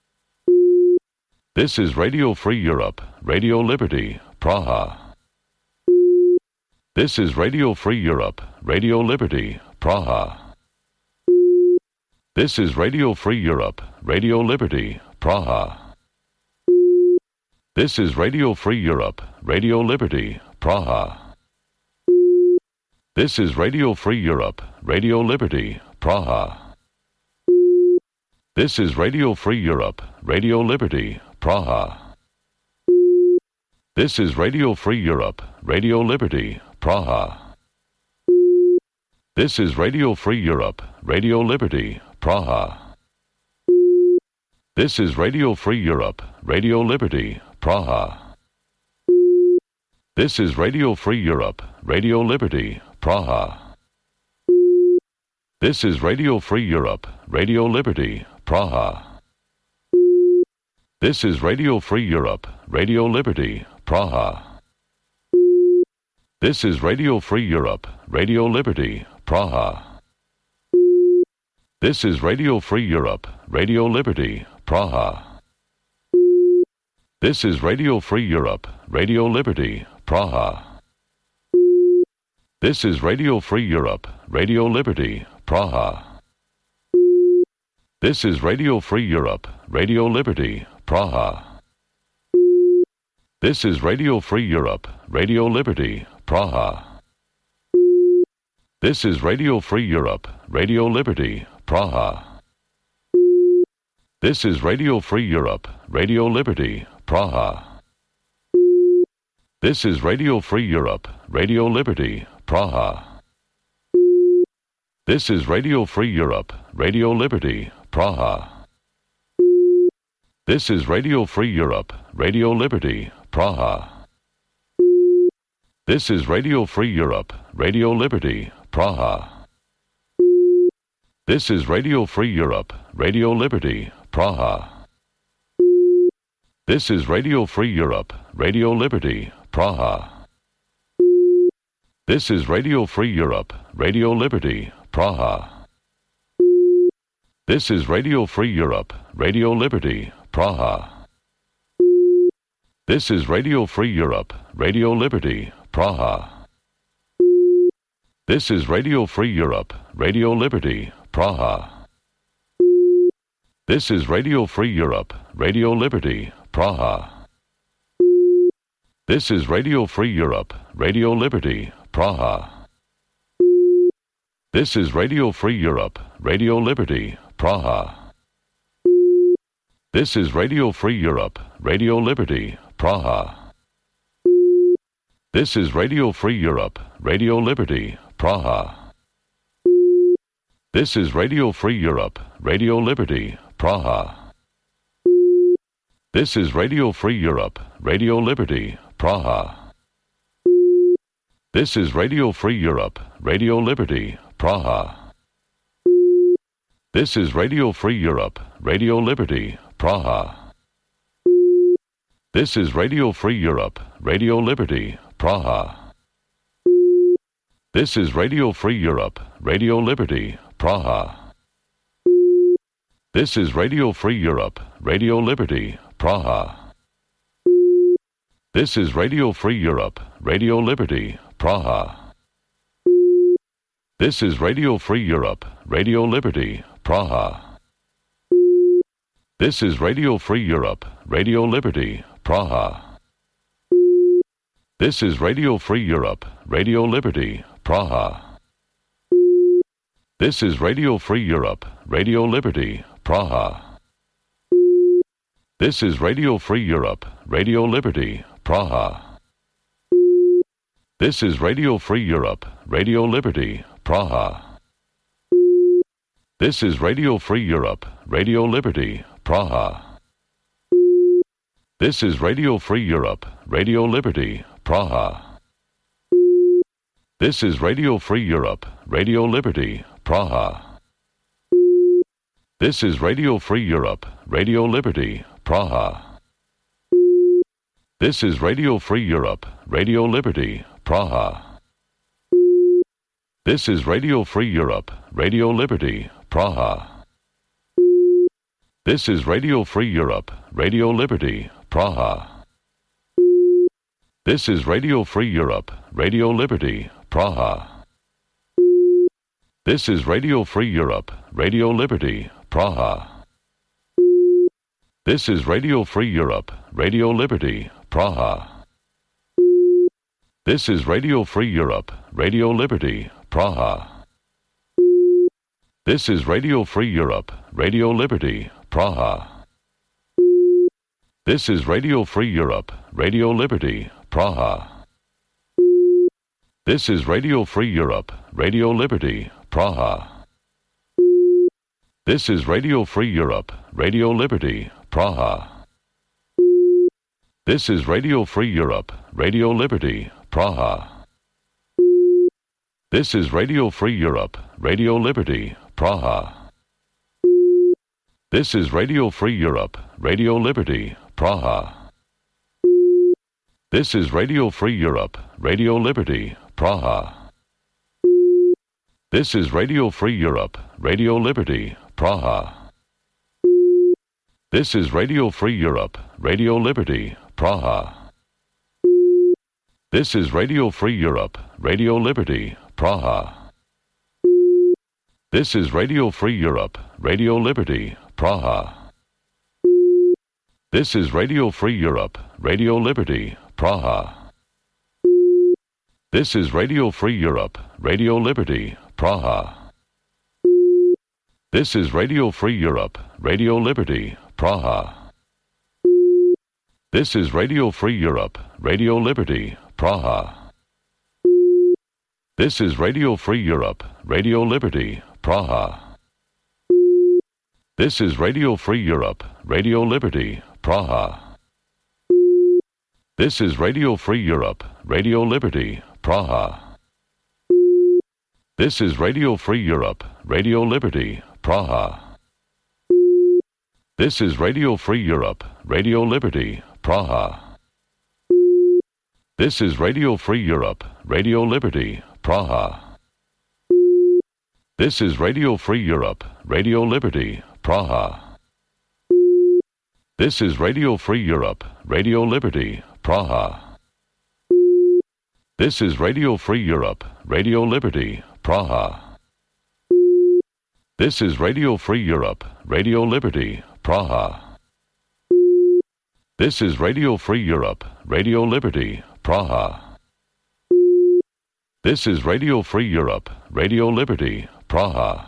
This is Radio Free Europe, Radio Liberty, Praha. This is Radio Free Europe, Radio Liberty, Praha. This is Radio Free Europe, Radio Liberty, Praha. This is Radio Free Europe, Radio Liberty, Praha. This is Radio Free Europe, Radio Liberty, Praha. This is Radio Free Europe, Radio Liberty, Praha. This is Radio Free Europe, Radio Liberty, Praha. This is Radio Free Europe, Radio Liberty, Praha. This is Radio Free Europe, Radio Liberty, Praha. This is Radio Free Europe, Radio Liberty, Praha. This is Radio Free Europe, Radio Liberty, Praha. This is Radio Free Europe, Radio Liberty, Praha. This is Radio Free Europe, Radio Liberty, Praha. This is Radio Free Europe, Radio Liberty, Praha. This is Radio Free Europe, Radio Liberty, Praha. This is Radio Free Europe, Radio Liberty, Praha. This is Radio Free Europe, Radio Liberty, Praha. This is Radio Free Europe, Radio Liberty, Praha. This is Radio Free Europe, Radio Liberty, Praha. This is Radio Free Europe, Radio Liberty, Praha. This is Radio Free Europe, Radio Liberty, Praha. This is Radio Free Europe, Radio Liberty, Praha. This is Radio Free Europe, Radio Liberty, Praha. This is Radio Free Europe, Radio Liberty, Praha. This is Radio Free Europe, Radio Liberty, Praha. This is Radio Free Europe, Radio Liberty, Praha. This is Radio Free Europe, Radio Liberty, Praha. This is Radio Free Europe, Radio Liberty, Praha. This is Radio Free Europe, Radio Liberty, Praha. This is Radio Free Europe, Radio Liberty, Praha. This is Radio Free Europe, Radio Liberty, Praha. This is Radio Free Europe, Radio Liberty, Praha. This is Radio Free Europe, Radio Liberty, Praha. This is Radio Free Europe, Radio Liberty, Praha. This is Radio Free Europe, Radio Liberty, Praha. This is Radio Free Europe, Radio Liberty, Praha. This is Radio Free Europe, Radio Liberty, Praha. This is Radio Free Europe, Radio Liberty, Praha. This is Radio Free Europe, Radio Liberty, Praha. This is Radio Free Europe, Radio Liberty, Praha. This is Radio Free Europe, Radio Liberty, Praha. This is Radio Free Europe, Radio Liberty, Praha. This is Radio Free Europe, Radio Liberty, Praha. This is Radio Free Europe, Radio Liberty, Praha. This is Radio Free Europe, Radio Liberty, Praha. This is Radio Free Europe, Radio Liberty, Praha. This is Radio Free Europe, Radio Liberty, Praha. This is Radio Free Europe, Radio Liberty, Praha. This is Radio Free Europe, Radio Liberty, Praha. This is Radio Free Europe, Radio Liberty, Praha. This is Radio Free Europe, Radio Liberty, Praha. This is Radio Free Europe, Radio Liberty, Praha. This is Radio Free Europe, Radio Liberty, Praha. This is Radio Free Europe, Radio Liberty, Praha. This is Radio Free Europe, Radio Liberty, Praha. This is Radio Free Europe, Radio Liberty, Praha. This is Radio Free Europe, Radio Liberty, Praha. This is Radio Free Europe, Radio Liberty, Praha. This is Radio Free Europe, Radio Liberty, Praha. This is Radio Free Europe, Radio Liberty, Praha. This is Radio Free Europe, Radio Liberty, Praha. This is Radio Free Europe, Radio Liberty, Praha. This is Radio Free Europe, Radio Liberty, Praha. This is Radio Free Europe, Radio Liberty, Praha. This is Radio Free Europe, Radio Liberty, Praha. This is Radio Free Europe, Radio Liberty, Praha. This is Radio Free Europe, Radio Liberty, Praha. This is Radio Free Europe, Radio Liberty, Praha. This is Radio Free Europe, Radio Liberty, Praha. This is Radio Free Europe, Radio Liberty, Praha. This is Radio Free Europe, Radio Liberty, Praha. This is Radio Free Europe, Radio Liberty, Praha. This is Radio Free Europe, Radio Liberty, Praha. This is Radio Free Europe, Radio Liberty, Praha. This is Radio Free Europe, Radio Liberty, Praha. This is Radio Free Europe, Radio Liberty, Praha. This is Radio Free Europe, Radio Liberty, Praha. This is Radio Free Europe, Radio Liberty, Praha. This is Radio Free Europe, Radio Liberty, Praha. This is Radio Free Europe, Radio Liberty, Praha. This is Radio Free Europe, Radio Liberty, Praha. This is Radio Free Europe, Radio Liberty, Praha. This is Radio Free Europe, Radio Liberty, Praha. This is Radio Free Europe, Radio Liberty, Praha. This is Radio Free Europe, Radio Liberty, Praha. This is Radio Free Europe, Radio Liberty, Praha. This is Radio Free Europe, Radio Liberty, Praha. This is Radio Free Europe, Radio Liberty, Praha.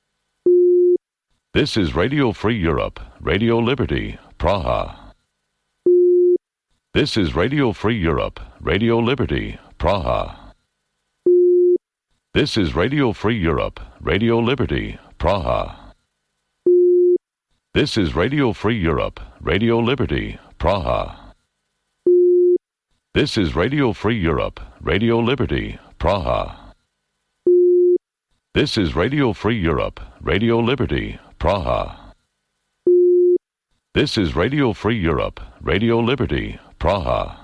This is Radio Free Europe, Radio Liberty, Praha. This is Radio Free Europe, Radio Liberty, Praha. This is Radio Free Europe, Radio Liberty, Praha. This is Radio Free Europe, Radio Liberty, Praha. This is Radio Free Europe, Radio Liberty, Praha. This is Radio Free Europe, Radio Liberty, Praha. This is Radio Free Europe, Radio Liberty, Praha.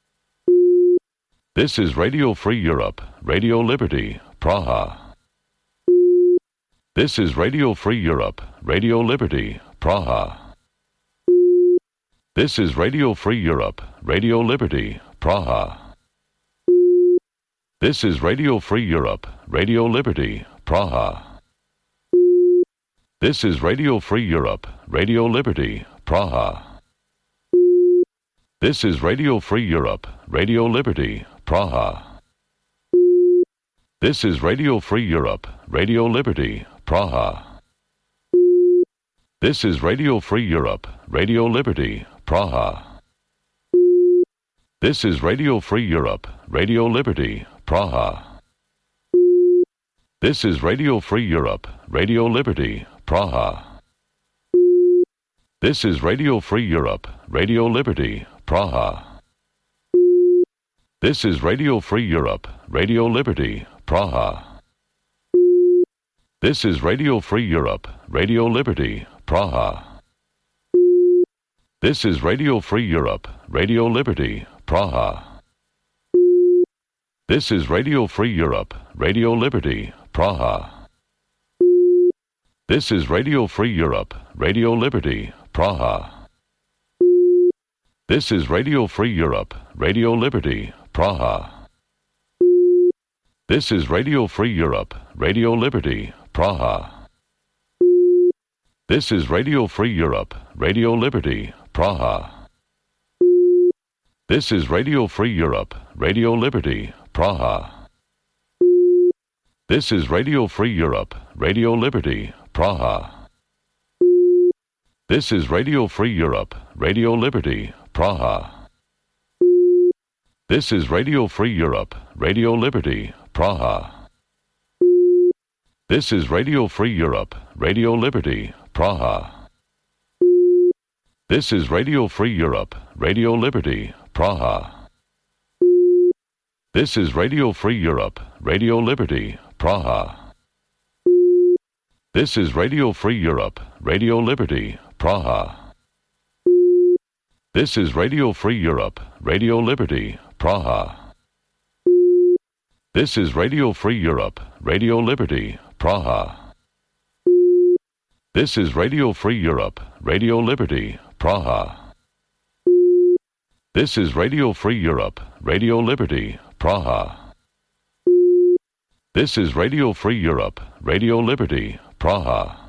This is Radio Free Europe, Radio Liberty, Praha. This is Radio Free Europe, Radio Liberty, Praha. This is Radio Free Europe, Radio Liberty, Praha. This is Radio Free Europe, Radio Liberty, Praha. This is Radio Free Europe, Radio Liberty, Praha. This is Radio Free Europe, Radio Liberty, Praha. This is Radio Free Europe, Radio Liberty, Praha. This is Radio Free Europe, Radio Liberty, Praha. This is Radio Free Europe, Radio Liberty, Praha. This is Radio Free Europe, Radio Liberty, Praha. This is Radio Free Europe, Radio Liberty, Praha. This is Radio Free Europe, Radio Liberty, Praha. This is Radio Free Europe, Radio Liberty, Praha. This is Radio Free Europe, Radio Liberty, Praha. This is Radio Free Europe, Radio Liberty, Praha. This is Radio Free Europe, Radio Liberty, Praha. This is Radio Free Europe, Radio Liberty, Praha. This is Radio Free Europe, Radio Liberty, Praha. This is Radio Free Europe, Radio Liberty, Praha. This is Radio Free Europe, Radio Liberty, Praha. This is Radio Free Europe, Radio Liberty, Praha. This is Radio Free Europe, Radio Liberty, Praha. This is Radio Free Europe, Radio Liberty, Praha. This is Radio Free Europe, Radio Liberty, Praha. This is Radio Free Europe, Radio Liberty, Praha. This is Radio Free Europe, Radio Liberty, Praha. This is Radio Free Europe, Radio Liberty, Praha. This is Radio Free Europe, Radio Liberty, Praha. This is Radio Free Europe, Radio Liberty, Praha. This is Radio Free Europe, Radio Liberty, Praha. This is Radio Free Europe, Radio Liberty, Praha. This is Radio Free Europe, Radio Liberty, Praha.